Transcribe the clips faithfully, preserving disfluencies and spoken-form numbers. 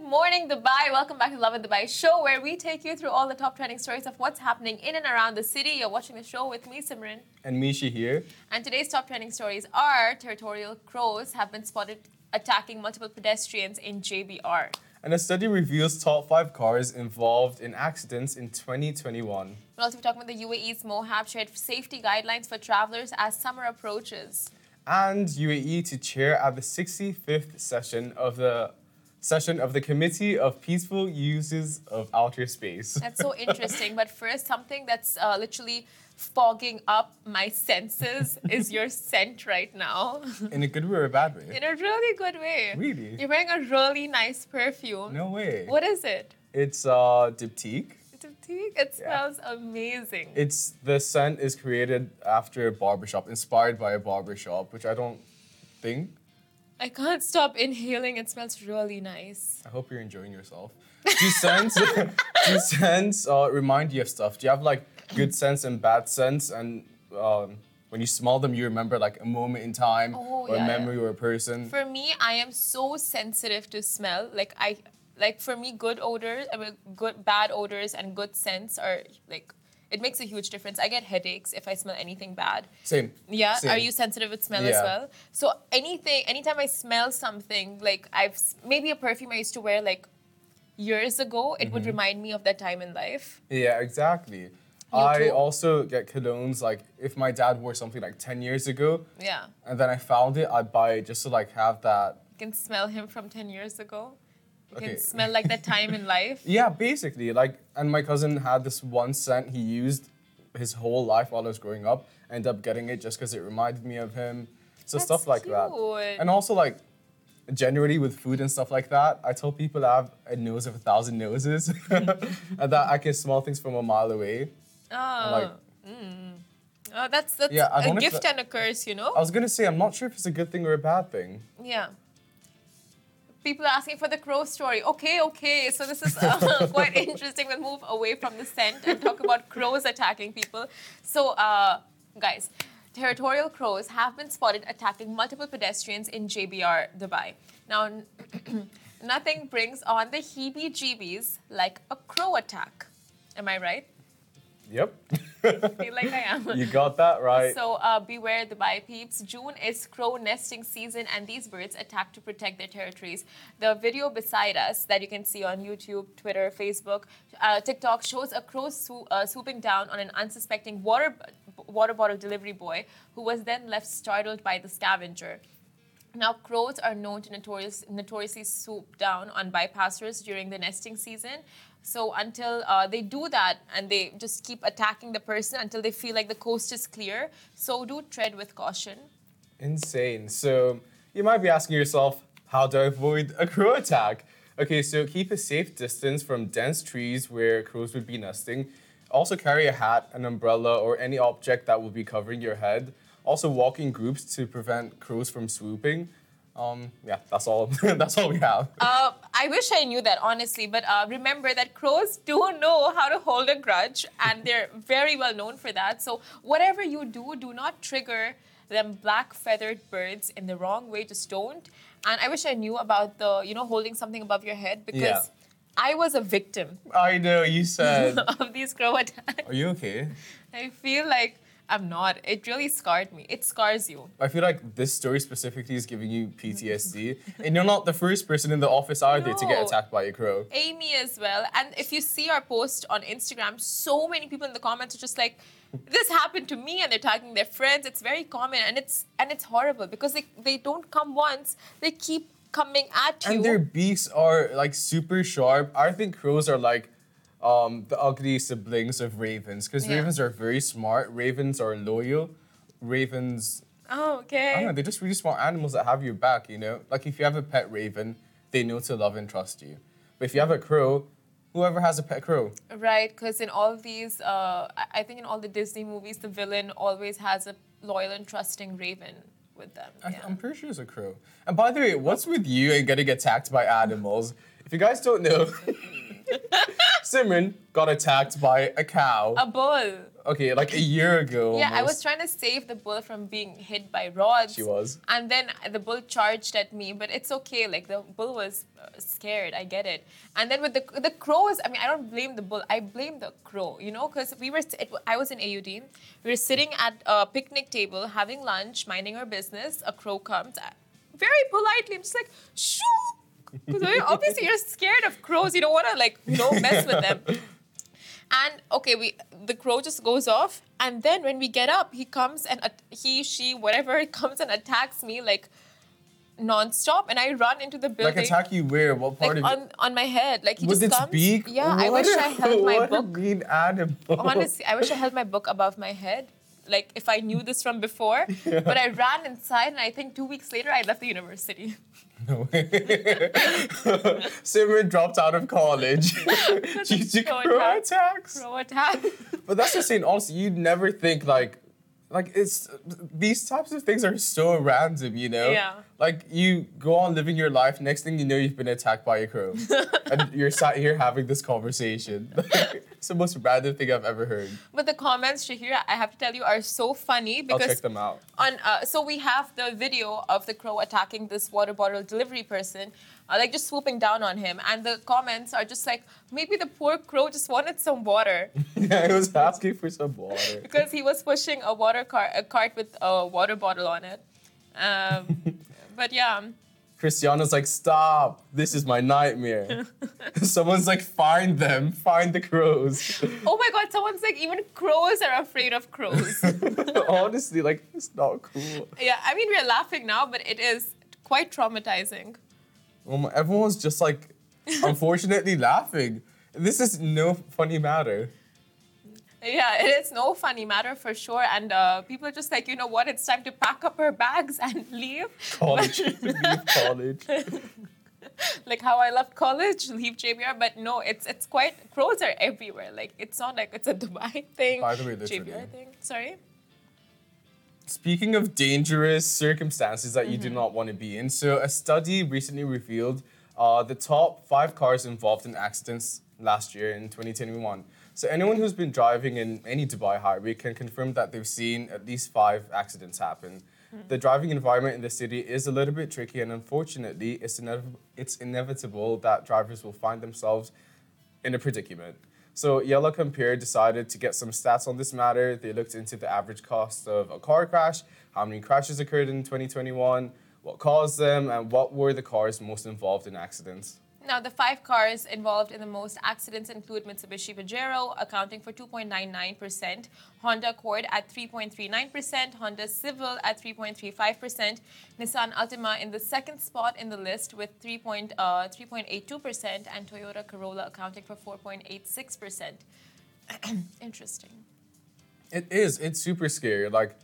morning, Dubai. Welcome back to Love in Dubai show, where we take you through all the top trending stories of what's happening in and around the city. You're watching the show with me, Simran. And Misha here. And today's top trending stories are territorial crows have been spotted attacking multiple pedestrians in J B R. And a study reveals top five cars involved in accidents in twenty twenty-one. We'll also be talking about the U A E's MOHAB shared safety guidelines for travelers as summer approaches. And U A E to chair at the sixty-fifth session of the session of the Committee of Peaceful Uses of Outer Space. That's so interesting. But first, something that's uh, literally fogging up my senses is your scent right now. In a good way or a bad way? In a really good way. Really? You're wearing a really nice perfume. No way. What is it? It's uh, Diptyque. Diptyque? It Yeah. smells amazing. It's the scent is created after a barbershop, inspired by a barbershop, which I don't think. I can't stop inhaling. It smells really nice. I hope you're enjoying yourself. Do scents, do scents uh, remind you of stuff? Do you have like good scents and bad scents? And um, when you smell them, you remember like a moment in time Oh, or yeah, a memory yeah. or a person? For me, I am so sensitive to smell. Like I, like for me, good odors, I mean, good bad odors and good scents are like. It makes a huge difference. I get headaches if I smell anything bad. Same. Yeah, Same. are you sensitive with smell as Yeah. well? So anything, anytime I smell something, like I've s- maybe a perfume I used to wear like years ago, it Mm-hmm. would remind me of that time in life. Yeah, exactly. I too? also get colognes, like if my dad wore something like ten years ago, Yeah, and then I found it, I'd buy it just to like have that. you can smell him from ten years ago. You Okay. can smell like that time in life. Yeah, basically, like, and my cousin had this one scent he used his whole life while I was growing up. I ended up getting it just because it reminded me of him. So That's stuff like that. cute. And also like, generally with food and stuff like that, I tell people I have a nose of a thousand noses, and that I can smell things from a mile away. Oh, like- oh that's that's Yeah, I a don't know if gift that- and a curse, you know? I was gonna say I'm not sure if it's a good thing or a bad thing. Yeah. People are asking for the crow story. Okay, okay. So this is uh, quite interesting. We'll move away from the scent and talk about crows attacking people. So, uh, guys, territorial crows have been spotted attacking multiple pedestrians in J B R, Dubai. Now, nothing brings on the heebie-jeebies like a crow attack. Am I right? Yep. I feel like I am. You got that right. So uh, beware, Dubai peeps. June is crow nesting season, and these birds attack to protect their territories. The video beside us that you can see on YouTube, Twitter, Facebook, uh, TikTok shows a crow swo- uh, swooping down on an unsuspecting water water bottle delivery boy, who was then left startled by the scavenger. Now, crows are known to notorious, notoriously swoop down on bypassers during the nesting season. So until uh, they do that and they just keep attacking the person until they feel like the coast is clear, so do tread with caution. Insane. So you might be asking yourself, how do I avoid a crow attack? Okay, so keep a safe distance from dense trees where crows would be nesting. Also carry a hat, an umbrella, or any object that will be covering your head. Also walk in groups to prevent crows from swooping. Um, yeah, that's all. That's all we have. Uh, I wish I knew that, honestly, but uh, remember that crows do know how to hold a grudge, and they're very well known for that. So whatever you do, do not trigger them black-feathered birds in the wrong way. Just don't. And I wish I knew about the, you know, holding something above your head, because Yeah. I was a victim I know, you said. of these crow attacks. Are you okay? I feel like I'm not. It really scarred me. It scars you. I feel like this story specifically is giving you P T S D. And you're not the first person in the office either to get No. attacked by a crow. Amy as well. And if you see our post on Instagram, so many people in the comments are just like, this happened to me, and they're tagging their friends. It's very common, and it's and it's horrible because they, they don't come once. They keep coming at you. And their beaks are like super sharp. I think crows are like um, the ugly siblings of ravens, because Yeah. ravens are very smart. Ravens are loyal. Ravens, Oh, okay. I don't know, they're just really smart animals that have your back, you know? Like if you have a pet raven, they know to love and trust you. But if you have a crow, whoever has a pet crow. Right, because in all these, uh, I I think in all the Disney movies, the villain always has a loyal and trusting raven with them. I, Yeah. I'm pretty sure it's a crow. And by the way, what's with you and getting attacked by animals? If you guys don't know, Simran got attacked by a cow. A bull. okay, like a year ago. Yeah, I was almost. trying to save the bull from being hit by rods. She was. And then the bull charged at me, but it's okay. Like the bull was uh, scared. I get it. And then with the the crows, I mean, I don't blame the bull. I blame the crow. You know, because we were. It, I was in A U D. We were sitting at a picnic table having lunch, minding our business. A crow comes, uh, very politely. I'm just like, shoo. Because obviously you're scared of crows. You don't want to like you know mess with them. And okay, we the crow just goes off, and then when we get up, he comes and uh, he, she, whatever, comes and attacks me like non-stop, and I run into the building. Like attack you where? What part like of on, on my head, like he With just its comes. beak? Yeah, I What wish a- I held my what a book. mean animal. Honestly, I wish I held my book above my head. Like if I knew this from before, but I ran inside, and I think two weeks later I left the university. No way. Simran dropped out of college due to Crow crow attack. attacks. Crow attack. But that's just saying, honestly, you'd never think like, like it's these types of things are so random, you know. Yeah. Like you go on living your life, next thing you know, you've been attacked by a crow, and you're sat here having this conversation. It's the most random thing I've ever heard. But the comments, Shahira, I have to tell you, are so funny I'll because check them out. on uh, so we have the video of the crow attacking this water bottle delivery person, uh, like just swooping down on him, and the comments are just like, maybe the poor crow just wanted some water Yeah, I was asking for some water. because he was pushing a water cart, a cart with a water bottle on it. Um, but yeah, Christiana's like, stop! This is my nightmare. Someone's like, find them, find the crows. oh my God, someone's like, even crows are afraid of crows. Honestly, like, it's not cool. Yeah, I mean we're laughing now, but it is quite traumatizing. Oh my, everyone's just like, unfortunately, laughing. This is no funny matter. Yeah, it is no funny matter for sure. And uh, people are just like, you know what, it's time to pack up our bags and leave. College, leave college. Like how I left college, leave J B R. But no, it's it's quite, crows are everywhere. Like it's not like it's a Dubai thing, By the way, J B R literally. thing. Sorry? Speaking of dangerous circumstances that you do not want to be in, so a study recently revealed uh, the top five cars involved in accidents last year in twenty twenty-one. So anyone who's been driving in any Dubai highway can confirm that they've seen at least five accidents happen. The driving environment in the city is a little bit tricky, and unfortunately, it's, inev- it's inevitable that drivers will find themselves in a predicament. So Yellow Compare decided to get some stats on this matter. They looked into the average cost of a car crash, how many crashes occurred in twenty twenty-one, what caused them, and what were the cars most involved in accidents. Now, the five cars involved in the most accidents include Mitsubishi Pajero, accounting for two point nine nine percent, Honda Accord at three point three nine percent, Honda Civic at three point three five percent, Nissan Altima in the second spot in the list with three point eight two percent, and Toyota Corolla accounting for four point eight six percent. Interesting. It is. It's super scary. Like,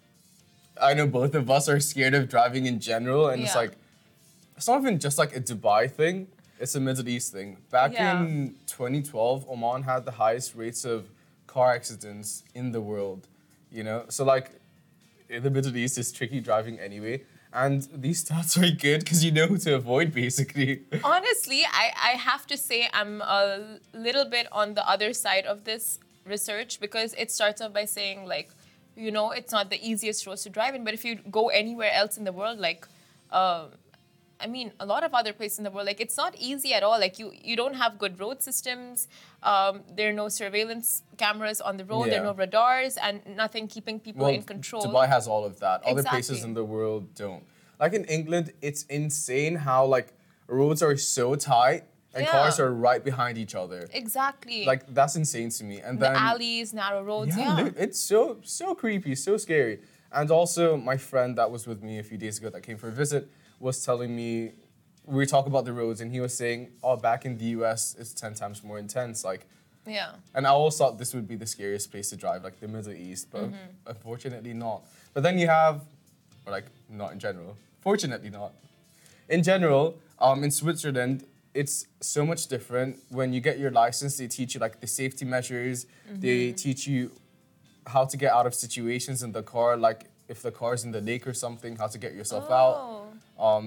I know both of us are scared of driving in general, and it's Yeah. like, it's not even just like a Dubai thing. It's a Middle East thing. Back Yeah. in twenty twelve, Oman had the highest rates of car accidents in the world. You know, so like, in the Middle East, it's tricky driving anyway. And these stats are good because you know who to avoid, basically. Honestly, I, I have to say I'm a little bit on the other side of this research because it starts off by saying, like, you know, it's not the easiest roads to drive in, but if you go anywhere else in the world, like, uh, I mean, a lot of other places in the world, like, it's not easy at all. Like, you, you don't have good road systems. Um, there are no surveillance cameras on the road. There are Yeah. no radars and nothing keeping people in control. Dubai has all of that. Other places Exactly. in the world don't. Like in England, it's insane how like roads are so tight and Yeah. cars are right behind each other. Exactly. Like that's insane to me. And the then alleys, narrow roads, yeah, yeah. li- it's so so creepy, so scary. And also, my friend that was with me a few days ago that came for a visit was telling me we were talking about the roads, and he was saying, "Oh, back in the U S, it's ten times more intense." Like. Yeah. And I always thought this would be the scariest place to drive, like the Middle East, but unfortunately not. But then you have, or like not in general, fortunately not. In general, um, in Switzerland, it's so much different. When you get your license, they teach you like the safety measures. They teach you how to get out of situations in the car, like if the car's in the lake or something, how to get yourself out. Oh. Um,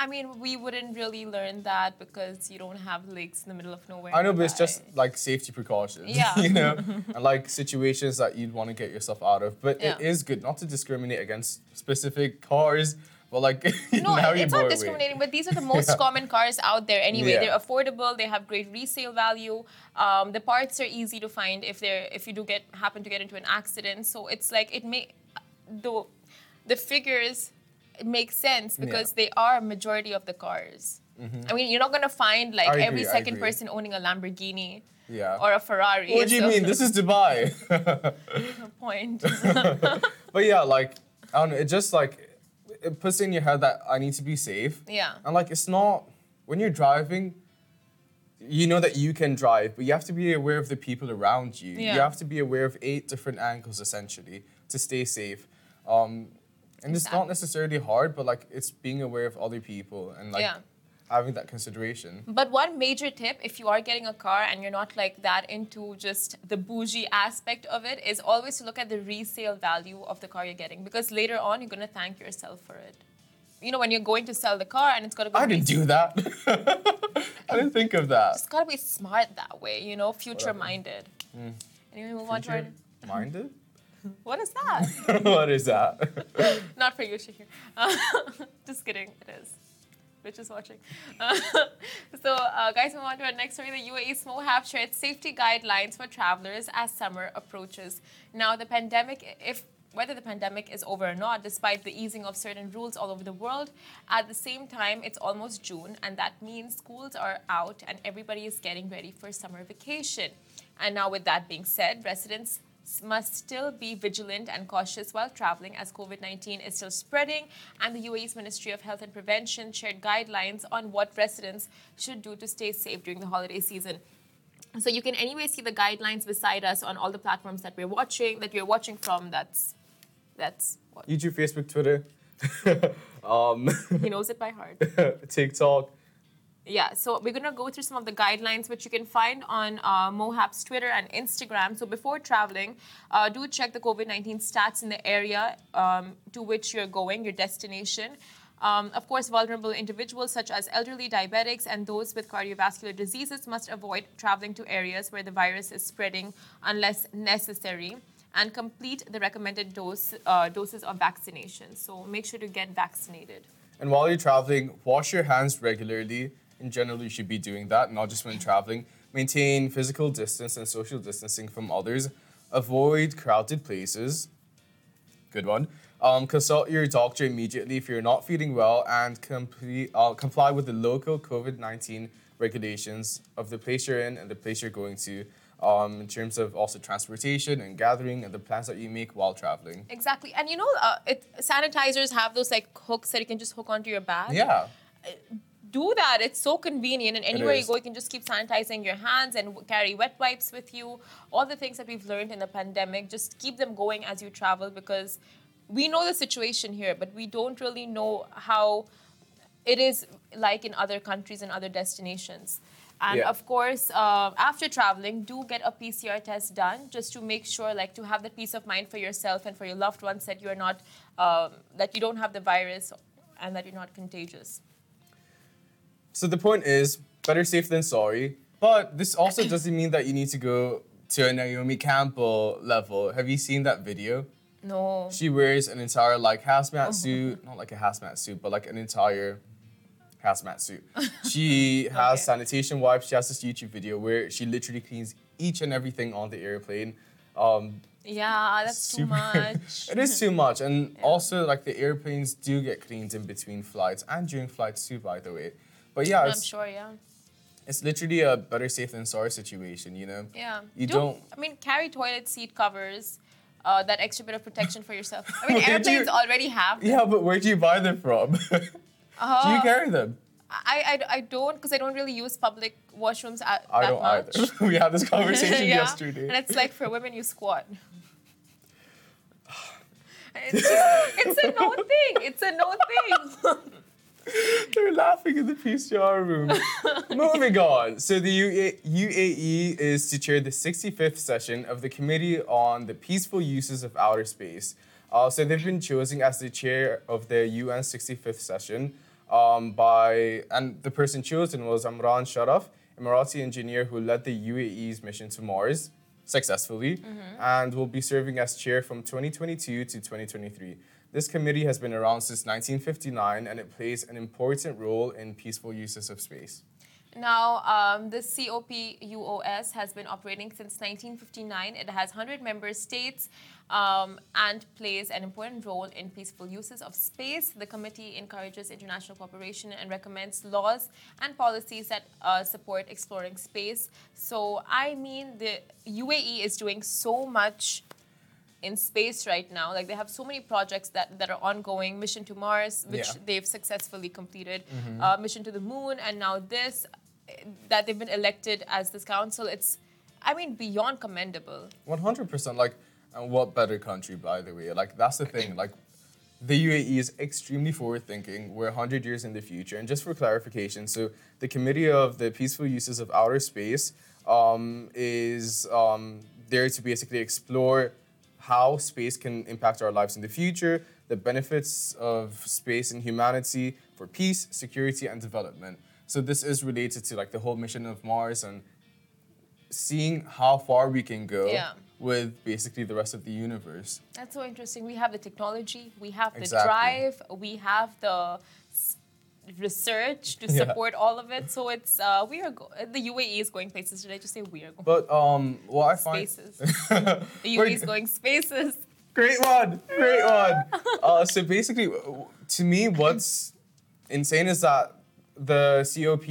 I mean, we wouldn't really learn that because you don't have lakes in the middle of nowhere. I know, but it's nearby. just like safety precautions, Yeah. you know, and like situations that you'd want to get yourself out of. But Yeah. it is good not to discriminate against specific cars, but like No, now it- you it's blow not away. discriminating, but these are the most common cars out there anyway. Yeah. They're affordable, they have great resale value. Um, the parts are easy to find if they're if you do get happen to get into an accident. So it's like it may the the figures make sense because Yeah. they are a majority of the cars. I mean, you're not gonna find like I agree, every I second agree. person owning a Lamborghini Yeah. or a Ferrari. What do you so- mean? This is Dubai. point. But yeah, like I don't know. It just like it puts in your head that I need to be safe. Yeah. And like it's not when you're driving, you know that you can drive, but you have to be aware of the people around you. Yeah. You have to be aware of eight different angles essentially to stay safe. Um, and it's not Exactly. necessarily hard, but like it's being aware of other people and like Yeah. having that consideration. But one major tip, if you are getting a car and you're not like that into just the bougie aspect of it, is always to look at the resale value of the car you're getting because later on you're gonna thank yourself for it. You know, when you're going to sell the car and it's got to be. I didn't do that. I didn't think of that. It's got to be smart that way, you know, future minded. Anyway, move on to our. Future minded? What is that? What is that? Not for you, Shahir. Uh, just kidding, it is. Bitch is watching. Uh, so, uh, guys, move on to our next story. The U A E's MOHAP shared safety guidelines for travelers as summer approaches. Now, the pandemic, if whether the pandemic is over or not, despite the easing of certain rules all over the world, at the same time, it's almost June, and that means schools are out and everybody is getting ready for summer vacation. And now, with that being said, residents must still be vigilant and cautious while traveling as COVID nineteen is still spreading, and the U A E's Ministry of Health and Prevention shared guidelines on what residents should do to stay safe during the holiday season. So you can anyway see the guidelines beside us on all the platforms that we're watching, that you're watching from. That's, that's what, YouTube, Facebook, Twitter, um, he knows it by heart. TikTok. Yeah, so we're going to go through some of the guidelines which you can find on uh, MOHAP's Twitter and Instagram. So before traveling, uh, do check the COVID nineteen stats in the area um, to which you're going, your destination. Um, of course, vulnerable individuals such as elderly, diabetics, and those with cardiovascular diseases must avoid traveling to areas where the virus is spreading unless necessary, and complete the recommended dose uh, doses of vaccination. So make sure to get vaccinated. And while you're traveling, wash your hands regularly. In general, you should be doing that, not just when traveling. Maintain physical distance and social distancing from others. Avoid crowded places. Good one. Um, consult your doctor immediately if you're not feeling well, and complete, uh, comply with the local COVID nineteen regulations of the place you're in and the place you're going to, um, in terms of also transportation and gathering and the plans that you make while traveling. Exactly. And you know, uh, it, sanitizers have those like hooks that you can just hook onto your bag. Yeah. Do that. It's so convenient. And anywhere you is. go, you can just keep sanitizing your hands and w- carry wet wipes with you. All the things that we've learned in the pandemic, just keep them going as you travel because we know the situation here, but we don't really know how it is like in other countries and other destinations. And Yeah. of course, uh, after traveling, do get a P C R test done just to make sure, like, to have the peace of mind for yourself and for your loved ones that you're not, um, that you don't have the virus and that you're not contagious. So the point is, better safe than sorry. But this also doesn't mean that you need to go to a Naomi Campbell level. Have you seen that video? No. She wears an entire like hazmat suit, not like a hazmat suit, but like an entire hazmat suit. She has Okay. sanitation wipes. She has this YouTube video where she literally cleans each and everything on the airplane. Um, Yeah, that's too super- much. It is too much, and also like the airplanes do get cleaned in between flights and during flights too, by the way. But yeah, I'm it's, sure, yeah. it's literally a better safe than sorry situation, you know? Yeah. You Do- don't. I mean, carry toilet seat covers, uh, that extra bit of protection for yourself. I mean, Where do airplanes you- already have them. Yeah, but where do you buy them from? Do you carry them? I, I, I don't, because I don't really use public washrooms at, I that don't much. either. We had this conversation Yeah. yesterday. And it's like for women, you squat. It's, just, it's a no thing. It's a no thing. They're laughing in the P C R room. Moving on. So the U A- U A E is to chair the sixty-fifth session of the Committee on the Peaceful Uses of Outer Space. Uh, so they've been chosen as the chair of the U N sixty-fifth session. um, by, and the person chosen was Amran Sharaf, Emirati engineer who led the U A E's mission to Mars successfully, mm-hmm. and will be serving as chair from twenty twenty-two to twenty twenty-three. This committee has been around since nineteen fifty-nine, and it plays an important role in peaceful uses of space. Now, um, the COPUOS has been operating since nineteen fifty-nine. It has one hundred member states um, and plays an important role in peaceful uses of space. The committee encourages international cooperation and recommends laws and policies that uh, support exploring space. So, I mean, the U A E is doing so much in space right now. Like, they have so many projects that, that are ongoing. Mission to Mars, which Yeah. they've successfully completed. Mm-hmm. Uh, mission to the Moon, and now this, that they've been elected as this council. It's, I mean, beyond commendable. one hundred percent. Like, and what better country, by the way? Like, that's the thing. Like, the U A E is extremely forward-thinking. We're one hundred years in the future. And just for clarification, so the Committee of the Peaceful Uses of Outer Space um, is um, there to basically explore how space can impact our lives in the future, the benefits of space and humanity for peace, security, and development. So this is related to like the whole mission of Mars and seeing how far we can go Yeah. with basically the rest of the universe. That's so interesting. We have the technology, we have the Exactly. drive, we have the s- research to Yeah. support all of it. So it's uh, we are go- the U A E is going places. Did I just say we are going But um, what I find spaces? The U A E is going spaces. Great one, great one. Uh, so basically, w- to me, what's insane is that the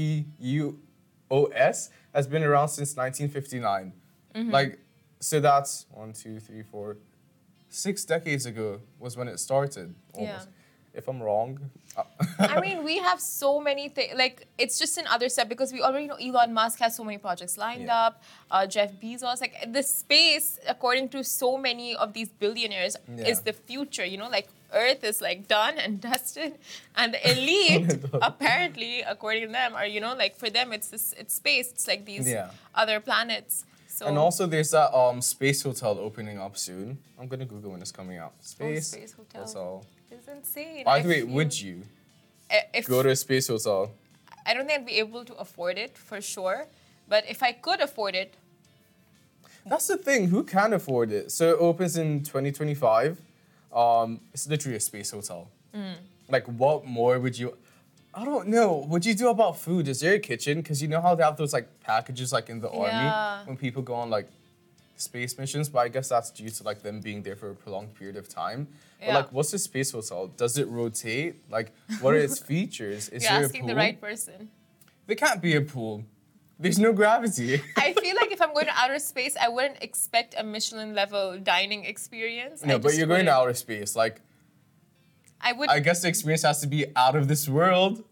COPUOS has been around since nineteen fifty-nine. Mm-hmm. Like, so that's one, two, three, four, six decades ago was when it started. Almost. Yeah. If I'm wrong. uh, I mean, we have so many things. Like, it's just another step because we already know Elon Musk has so many projects lined Yeah. up. Uh, Jeff Bezos, like the space, according to so many of these billionaires, Yeah. is the future. You know, like Earth is like done and dusted, and the elite, apparently, according to them, are you know like for them it's this, it's space. It's like these Yeah. other planets. So And also, there's that um space hotel opening up soon. I'm gonna Google when it's coming out. Space, Space Hotel. hotel. it's insane. By I the way, feel- would you I- if go to a space hotel? I don't think I'd be able to afford it for sure, but if I could afford it, That's the thing. Who can afford it? So it opens in twenty twenty-five. Um, it's literally a space hotel. Mm. Like, what more would you? I don't know. What do you do about food? Is there a kitchen? Because you know how they have those like packages like in the Yeah. army when people go on like space missions. But I guess that's due to like them being there for a prolonged period of time. But Yeah. like, what's a space hotel? Does it rotate? Like, what are its features? Is you're there asking a pool? the right person. There can't be a pool. There's no gravity. I feel like if I'm going to outer space, I wouldn't expect a Michelin level dining experience. No, I but just you're going to wouldn't. outer space. Like, I would. I guess the experience has to be out of this world,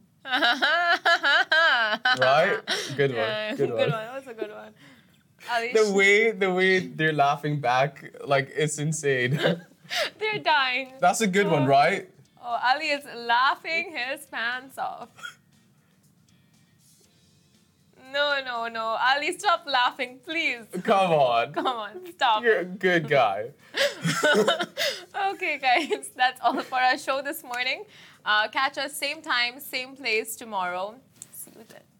right? Good one. Yeah, Good one. That's a good one. Ali, The way the way they're laughing back, like it's insane. they're dying. That's a good one, right? Oh, Ali is laughing his pants off. No, no, no. Ali, stop laughing, please. Come on. Come on, stop. You're a good guy. Okay, guys, that's all for our show this morning. Uh, catch us same time, same place tomorrow. See you then.